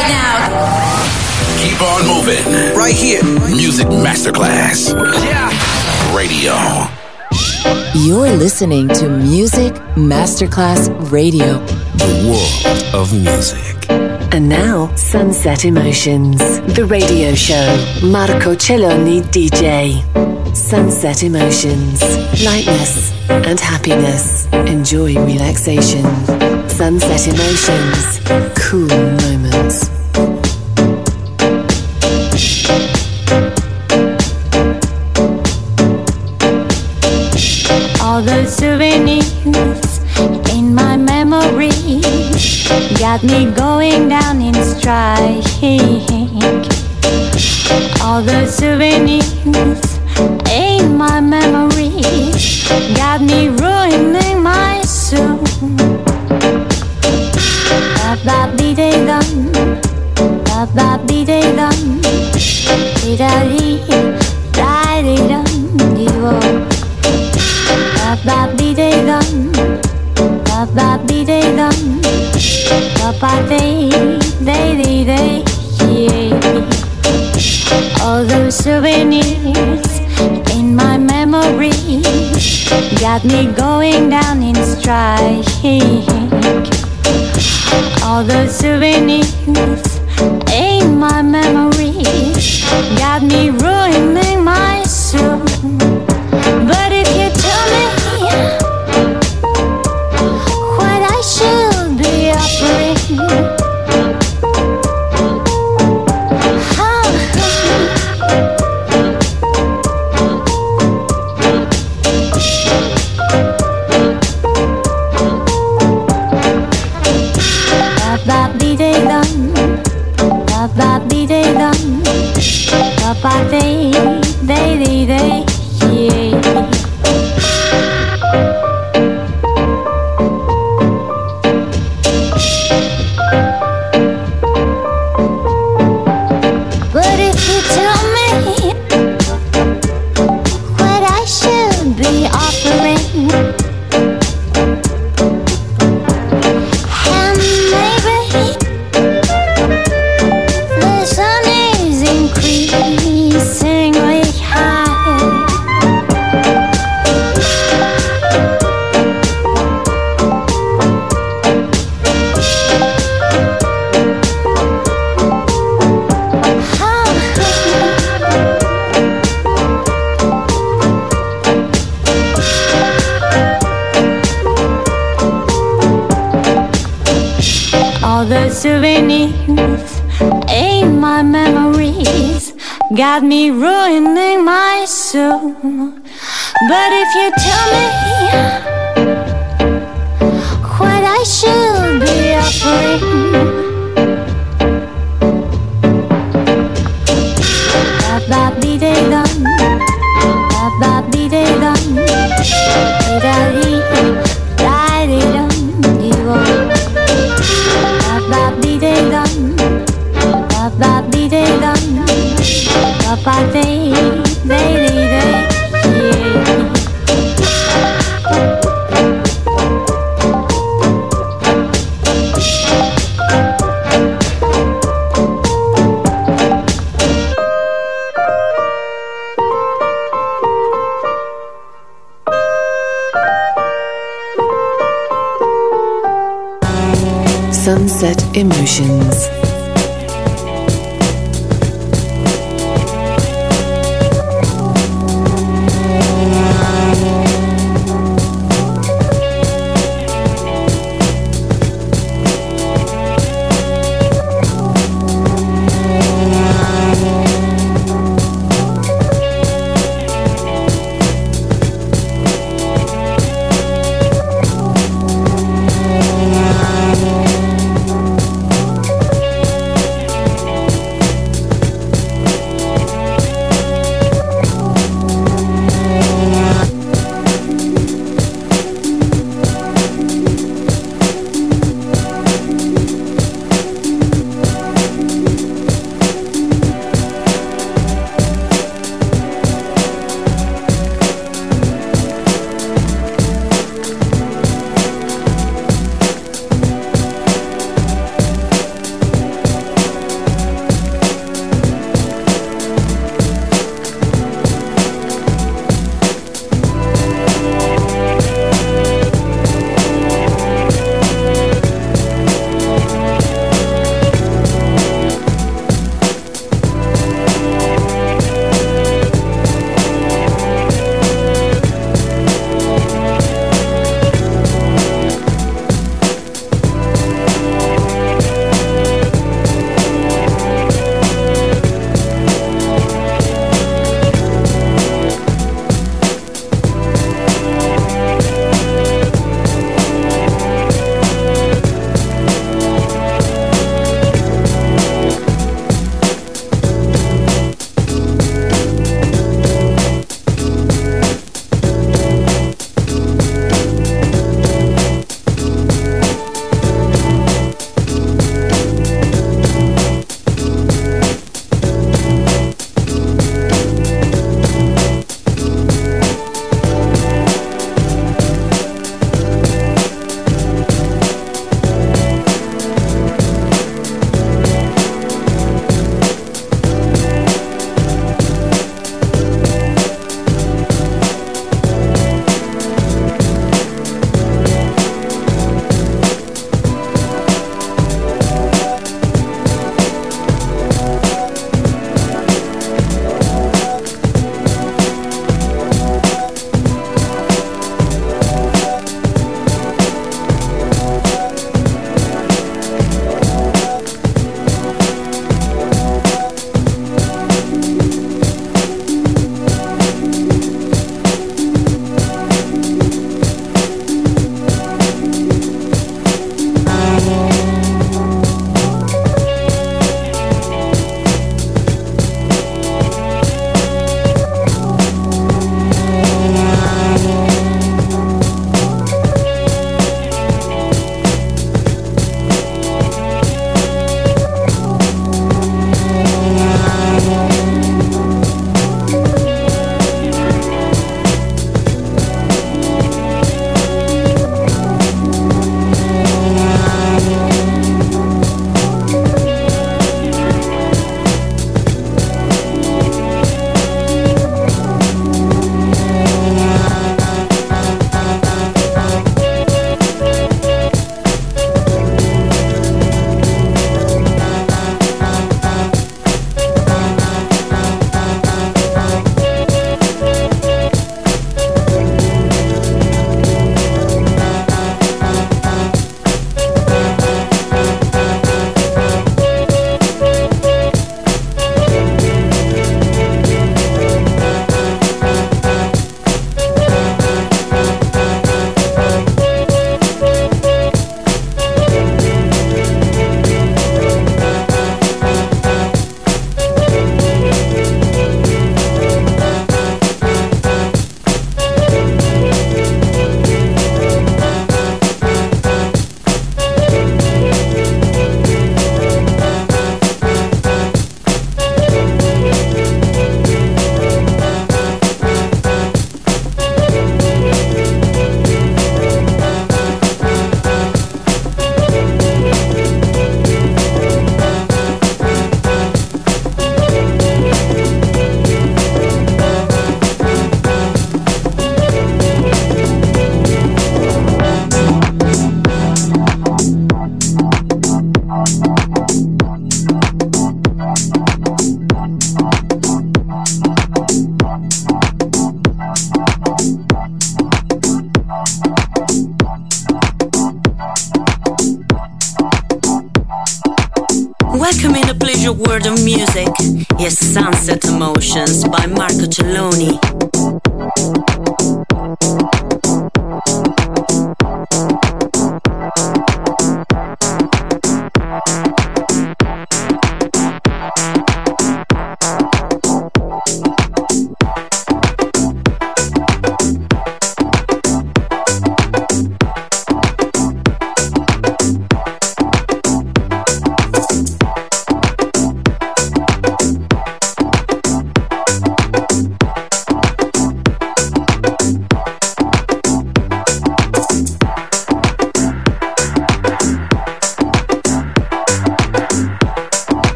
right now. Keep on moving. Right here. Music Masterclass. Yeah. Radio. You're listening to Music Masterclass Radio. The world of music. And now, Sunset Emotions, the radio show. Marco Celloni DJ. Sunset Emotions, lightness and happiness. Enjoy relaxation. Sunset Emotions, cool moments. All those souvenirs in my memory got me going down in strike. All those souvenirs in my memory got me ruining my soul. Ba ba dee day dum, ba ba dee day dum, dee da dee da dee dum dee wo. Ba ba dee day dum, ba ba dee day dum, ba ba day day day yeah. All those souvenirs in my memory got me going down in strike. All those souvenirs in my memory got me ruining my soul. But if you tell me what I should be offering, day, day, day, day, yeah. But if you tell me what I should be offering, and maybe the sun is increasingly high. All the souvenirs in my memories got me ruining my soul. But if you tell me what I should be offering, ba ba dee day dum, ba ba dee day dum, dee da dee da dee dum dee wo. Ba ba dee day dum, ba ba dee day dum, ba ba day day day day yeah. Sunset Emotions. Welcome in the pleasure world of music. Here's Sunset Emotions by Marco Celloni.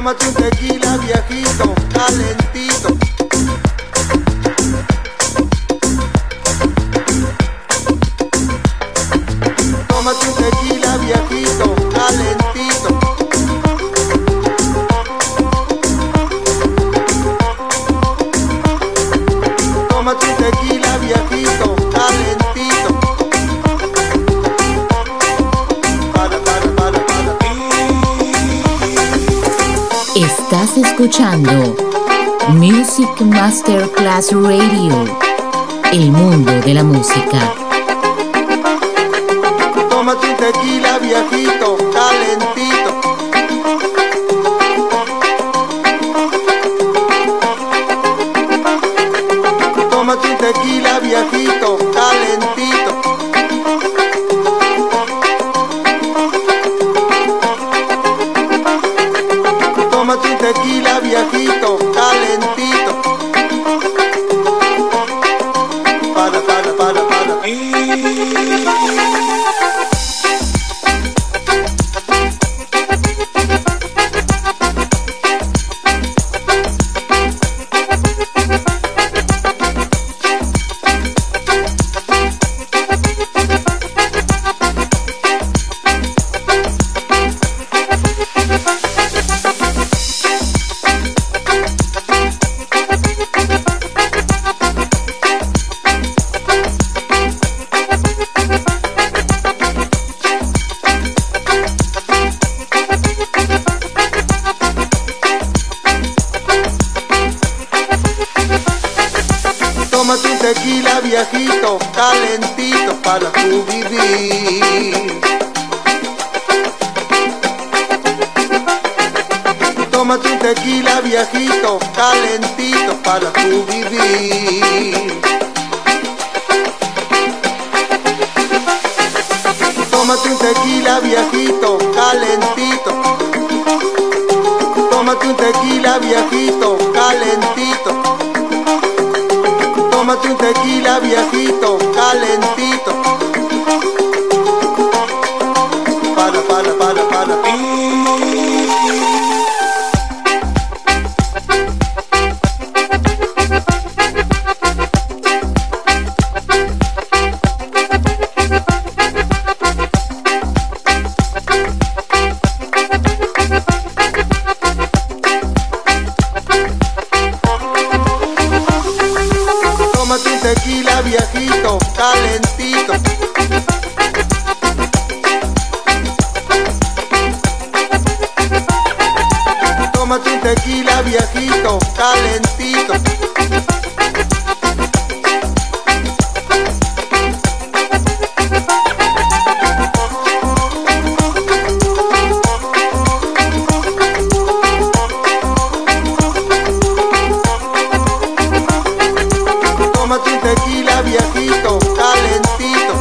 Tómate un tequila viejito, calentito. Tómate un tequila viejito, calentito. Tómate un tequila viejito, calentito. Para. Estás escuchando Music Masterclass Radio, el mundo de la música. Tómate un tequila viejito, calentito. Tómate un tequila viejito, calentito. Tómate un tequila viejito, calentito. Para. Tómate un tequila viejito, calentito para tu vivir. Tómate un tequila viejito, calentito para tu vivir. Tómate un tequila viejito, calentito. Tómate un tequila viejito, calentito. Tómate un tequila viejito, calentito. Para. Tómate un tequila viejito, calentito. Tómate un tequila viejito, calentito. Tómate un tequila viejito, calentito.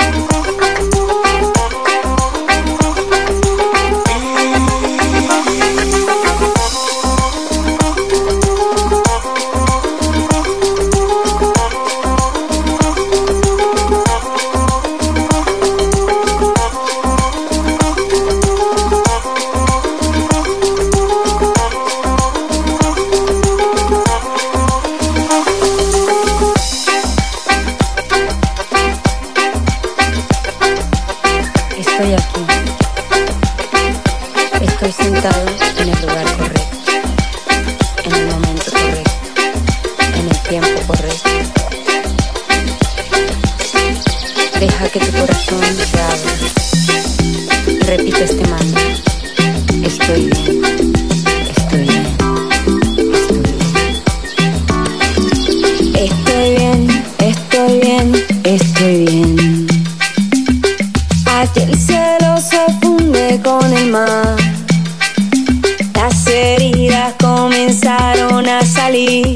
Estoy aquí. Estoy sentado en el lugar correcto, en el momento correcto, en el tiempo correcto. Deja que tu corazón se abra. Repite este mantra. Estoy bien. Estoy bien. Estoy bien. Estoy bien. Estoy bien. Aquí el cielo se funde con el mar. Las heridas comenzaron a salir,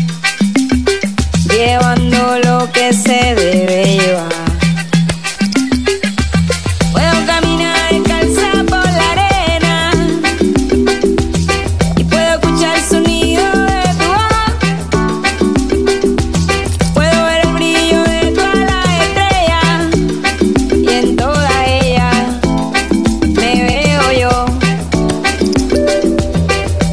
llevando lo que se debe llevar. Puedo caminar descalza por la arena y puedo escuchar el sonido de tu voz. Puedo ver el brillo de todas las estrellas y en todas ellas me veo yo.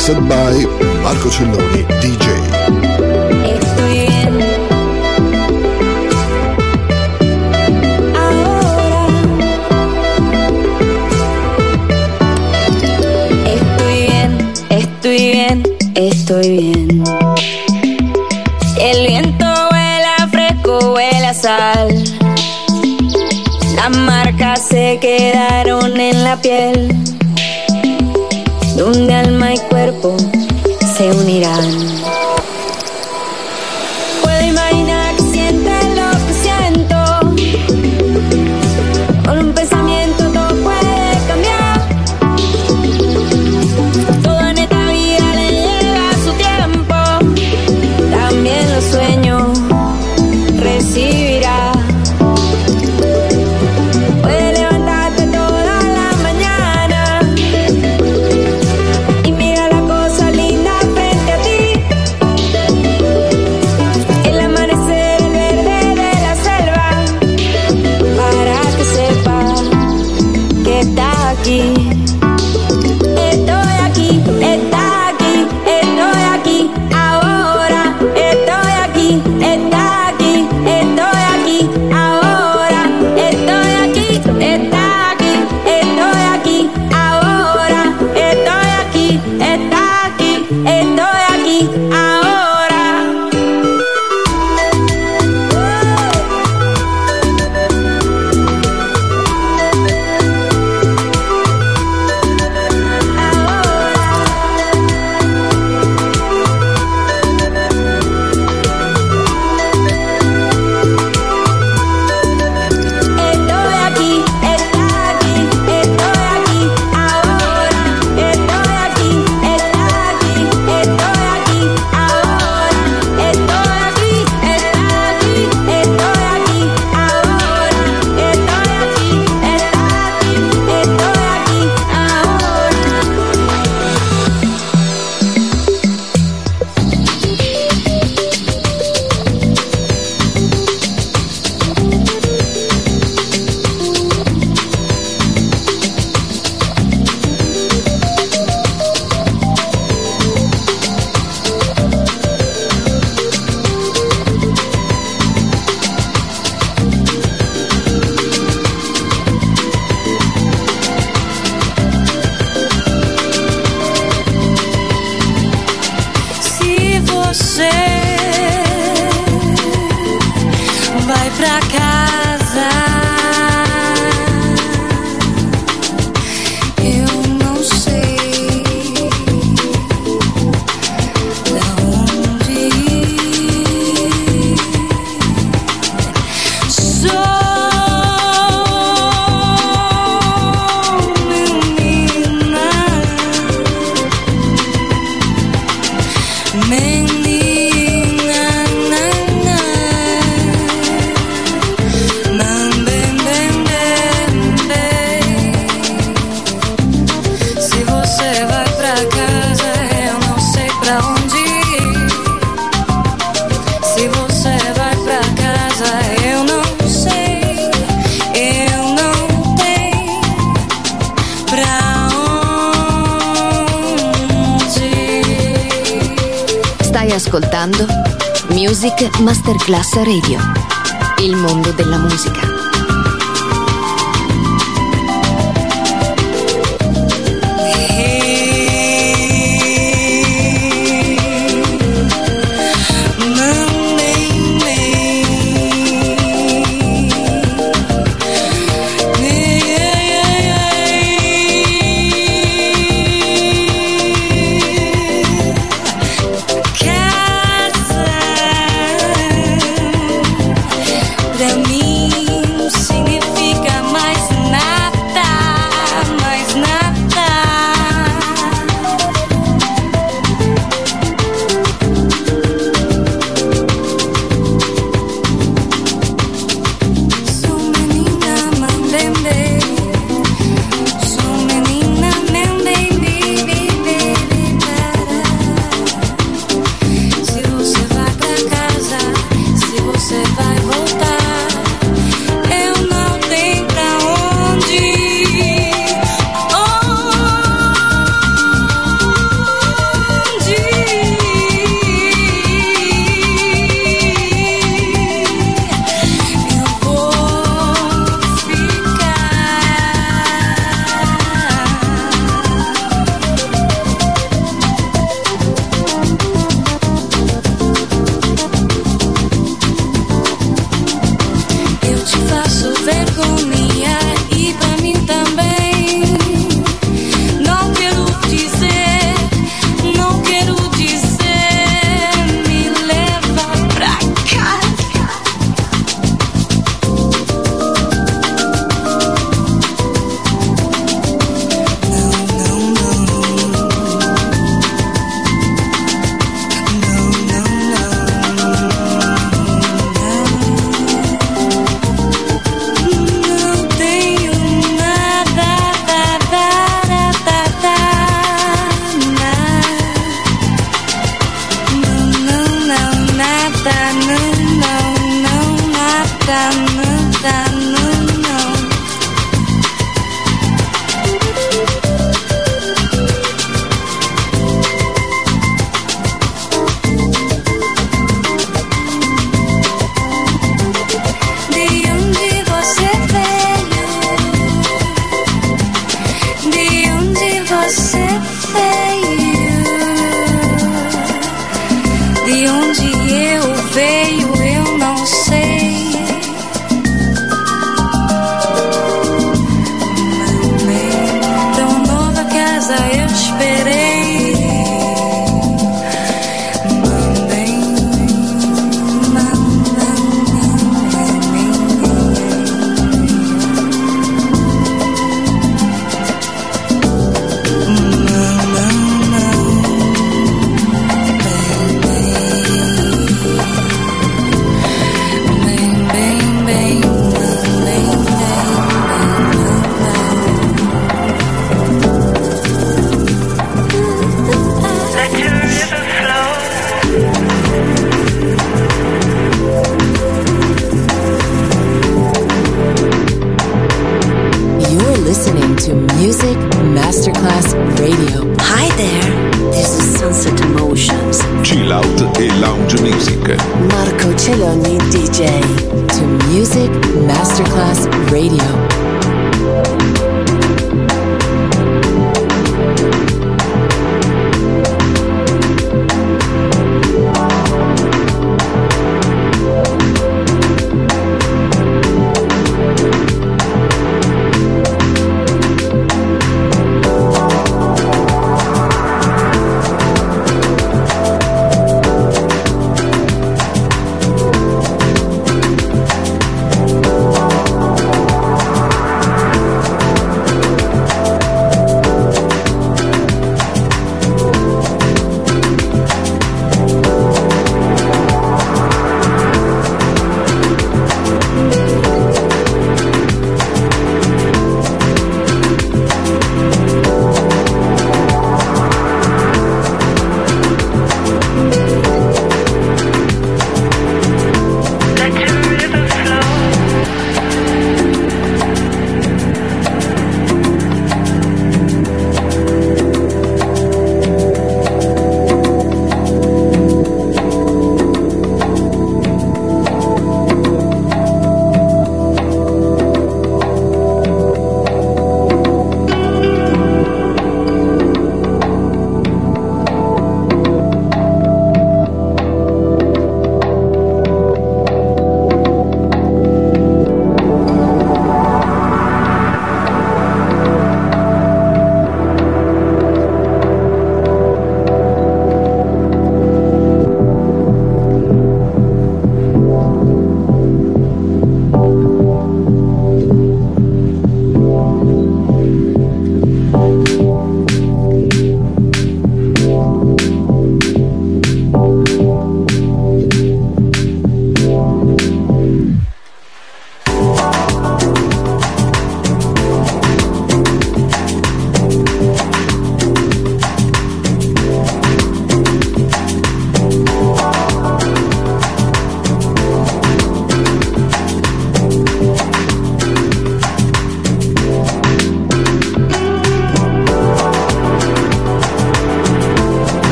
mixed by Marco Celloni, DJ. Estoy bien. Ahora estoy bien, estoy bien. El viento huela fresco, huele a sal. Las marcas se quedaron en la piel, donde alma y cuerpo se unirán. Puedo imaginar que sientes lo que siento. Con un pensamiento todo puede cambiar. Todo en esta vida le llega su tiempo. También los sueños recibirá. Puedes levantarte toda la mañana y mira la cosa linda frente a ti. El amanecer, el verde de la selva, para que sepas que estás aquí. Estoy aquí, estás aquí, estoy aquí, ahora. Estoy aquí, estás aquí, estoy aquí, ahora. Estoy aquí, estás aquí, estoy aquí, ahora. Estoy aquí, estás aquí, estoy aquí, ahora. Estoy aquí, estás aquí, estoy aquí, ahora. Estoy aquí, estás aquí, estoy aquí, ahora. Estoy aquí, estás aquí, estoy aquí, ahora. Estoy aquí, estás aquí, estoy aquí, Se você vai pra casa, eu não sei da onde ir. Sou menina, menina, se você vai pra casa, eu não sei pra onde ir. Se você vai pra casa, eu não sei, eu não tenho pra onde ir. Stai ascoltando Music Masterclass Radio, il mondo della musica. Casa pra mim. onde eu veio, eu não sei. Tão nova que asa eu esperei. Music Masterclass Radio. Hi there, this is Sunset Emotions. Chill out e lounge music. Marco Celloni DJ. To Music Masterclass Radio.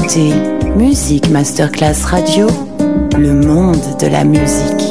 écoutez Music Masterclass Radio, le monde de la musique.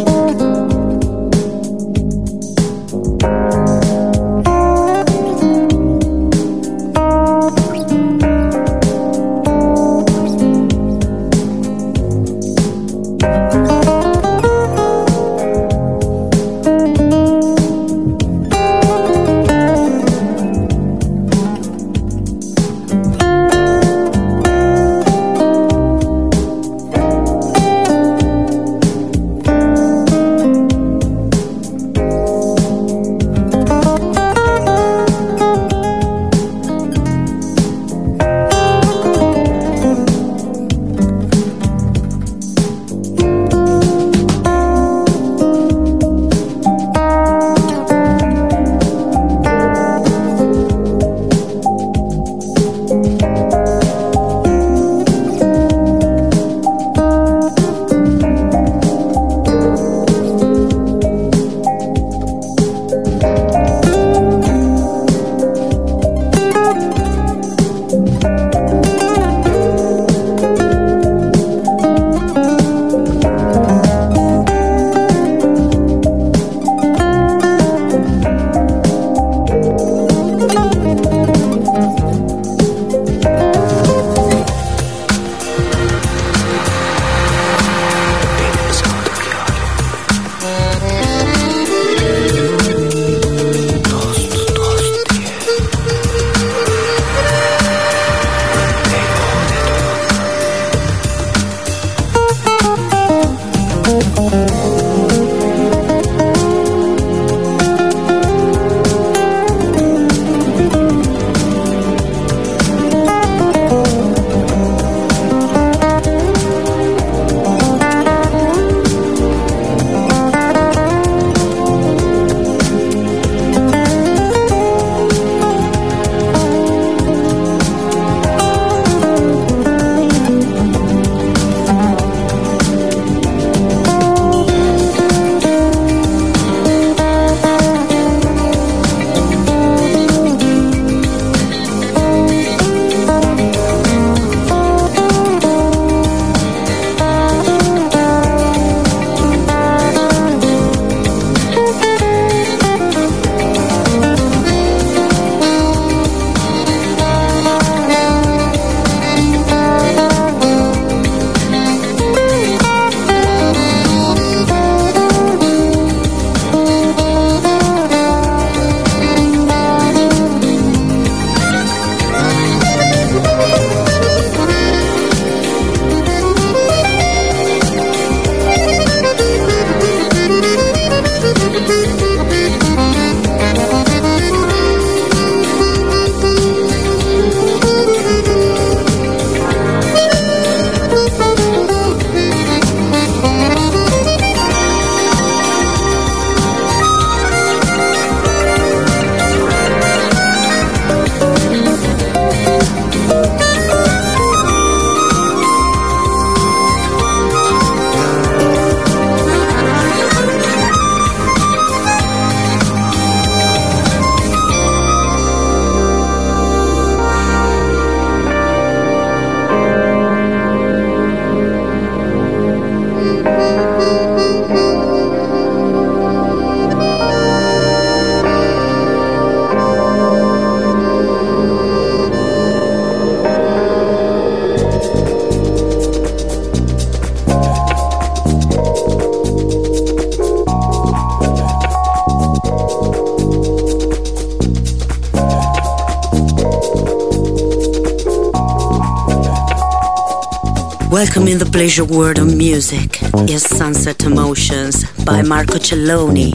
Welcome in the pleasure world of music is Sunset Emotions by Marco Celloni.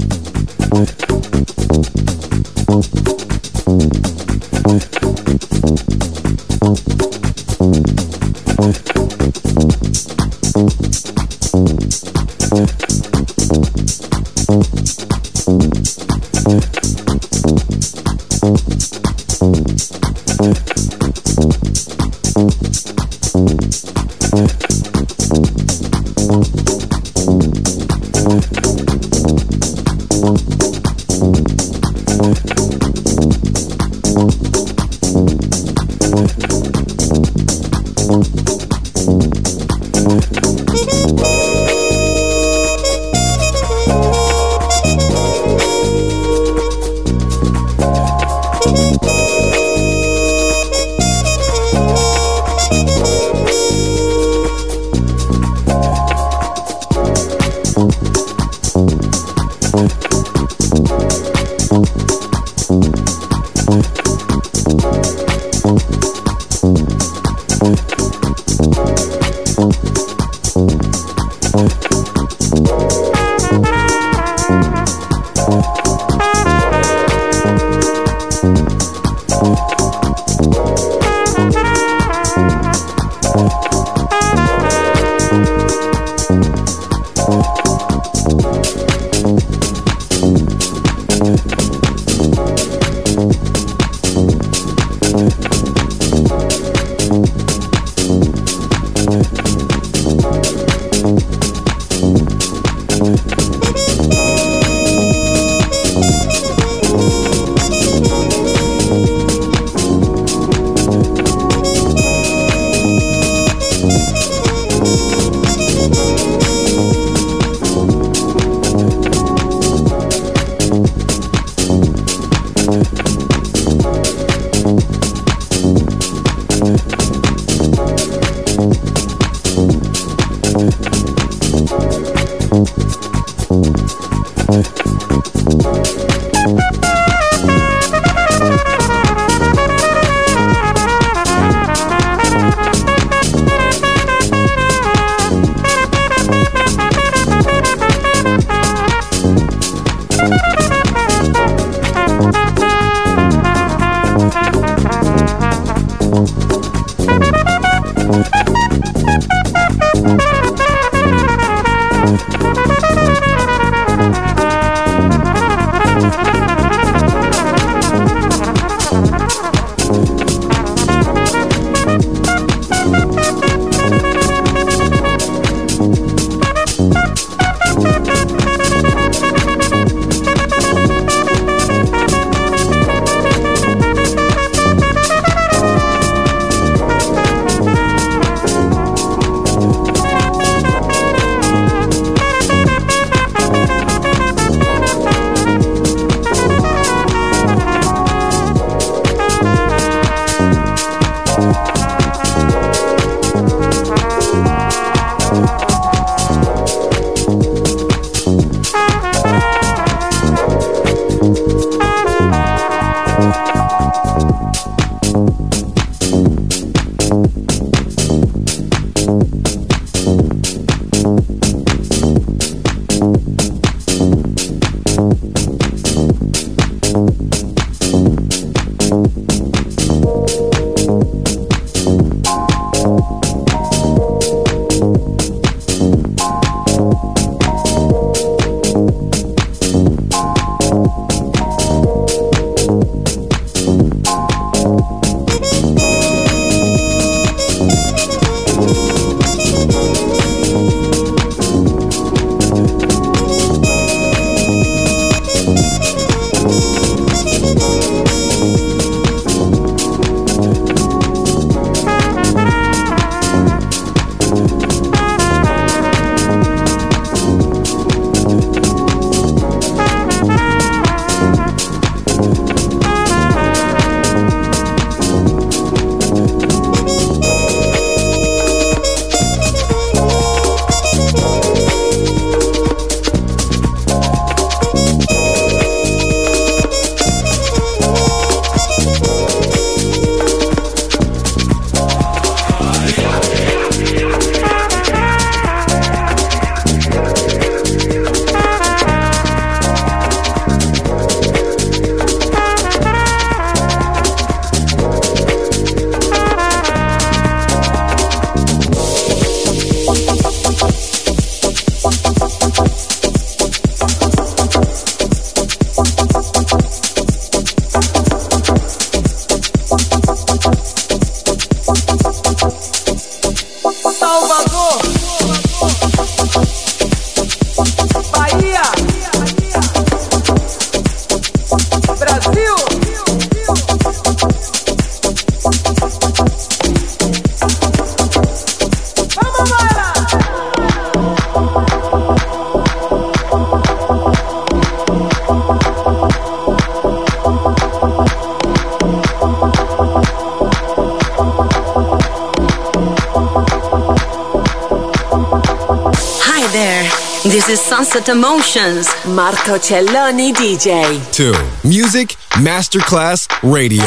This is Sunset Emotions. Marco Celloni DJ. To Music Masterclass Radio.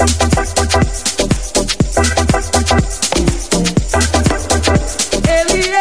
Eli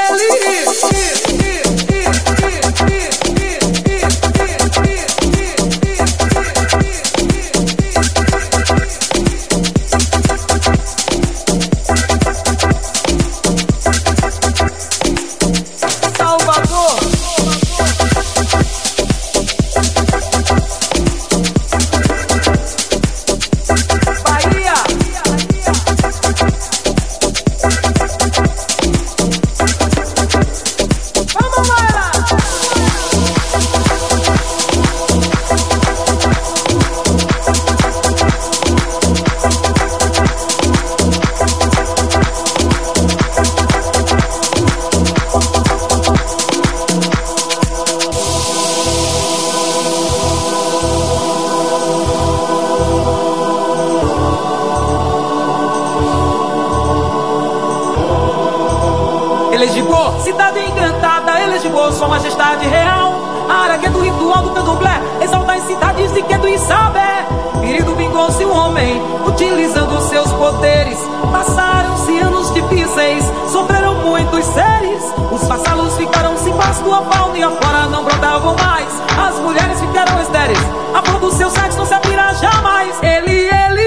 cidade real, Aragué do ritual do candomblé, exalta as cidades de Quedo e Sabé. Ferido vingou-se um homem, utilizando seus poderes. Passaram-se anos difíceis, sofreram muitos seres. Os vassalos ficaram sem paz, tua fauna e afora não brotavam mais. As mulheres ficaram estéreis, a flor do seu sexo não se abrirá jamais. Ele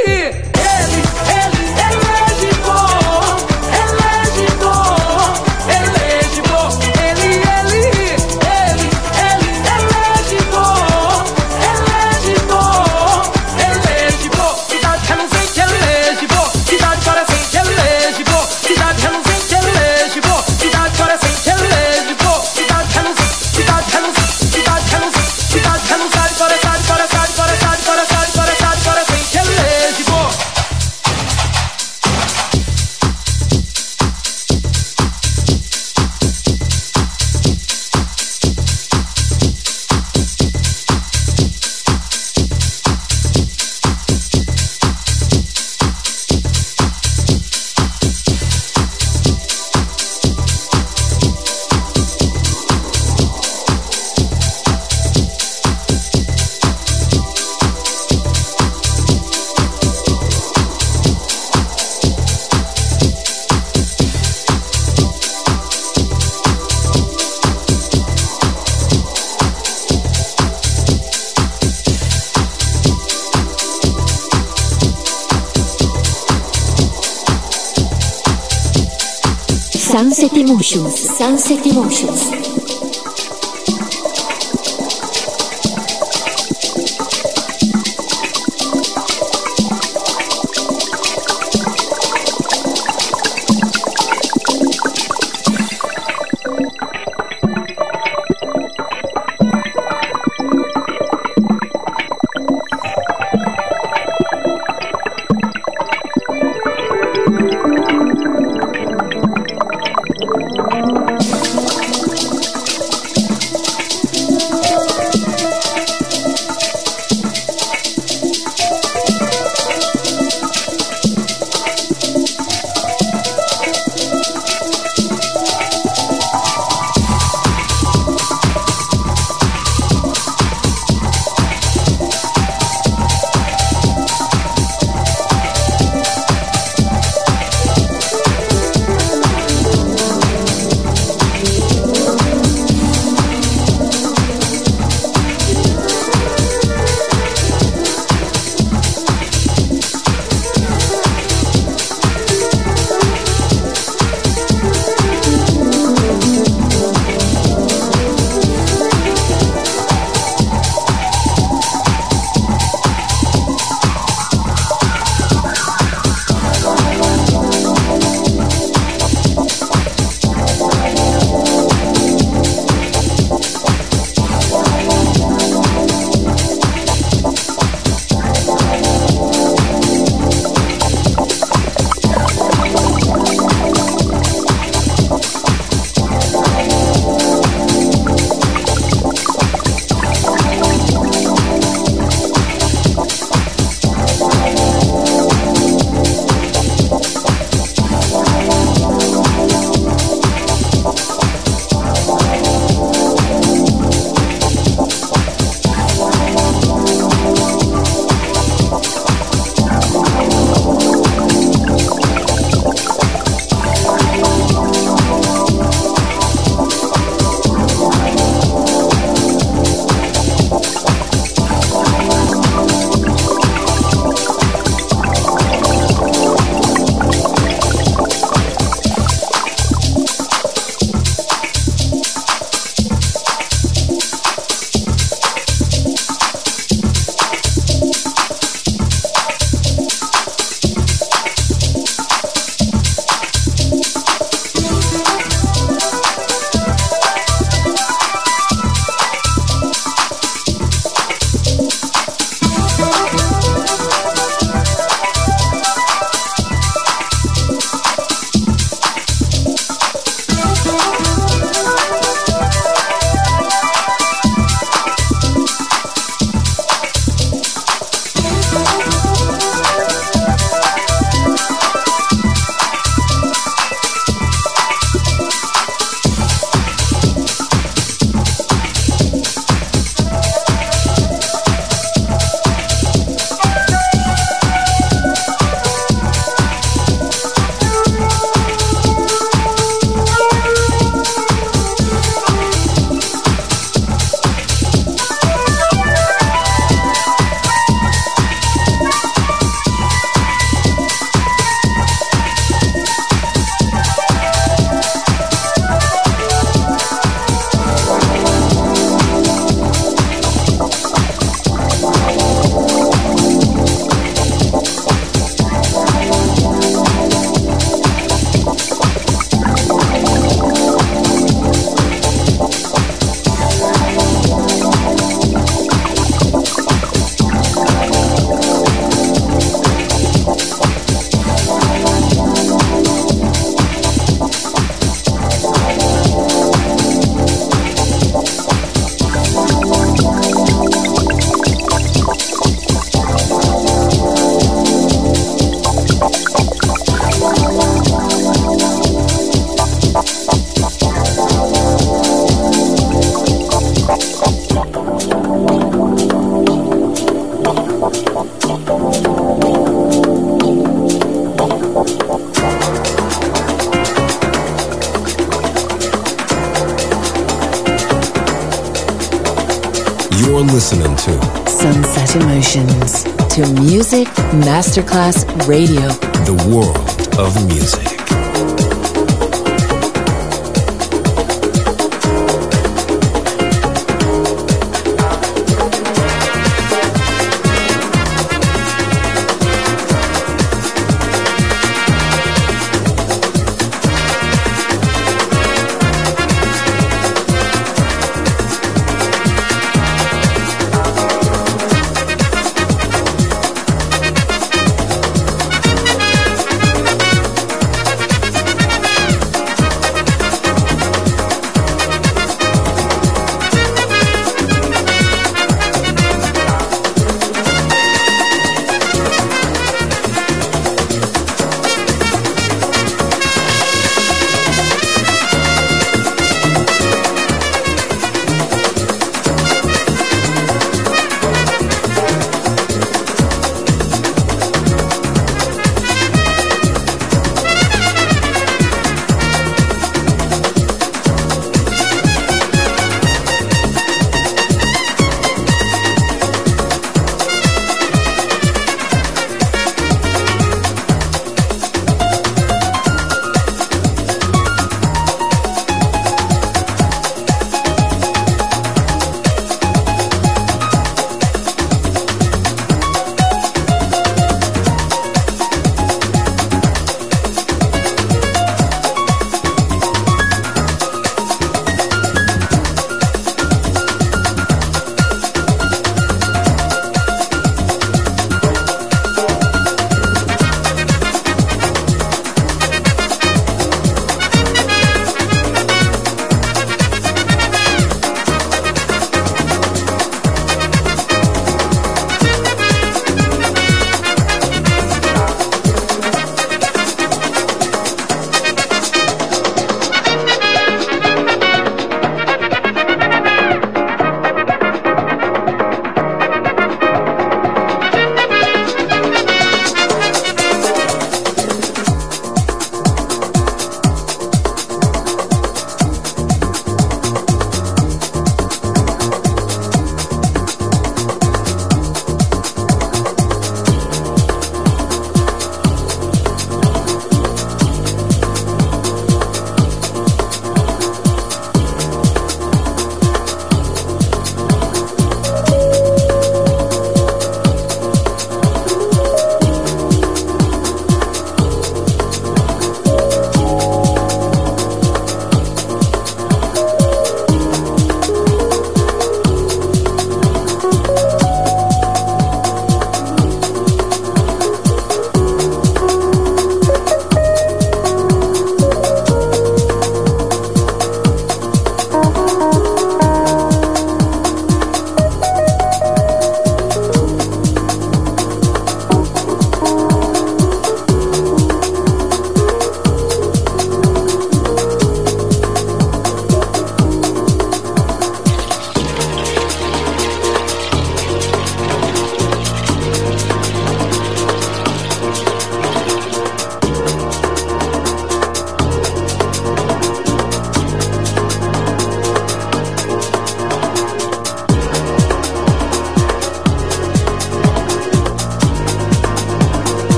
Sunset Emotions, Sunset Emotions. listening to Sunset Emotions to Music Masterclass Radio. The world of music.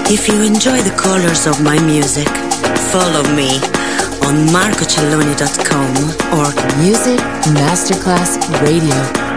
If you enjoy the colors of my music, follow me on marcocelloni.com or Music Masterclass Radio.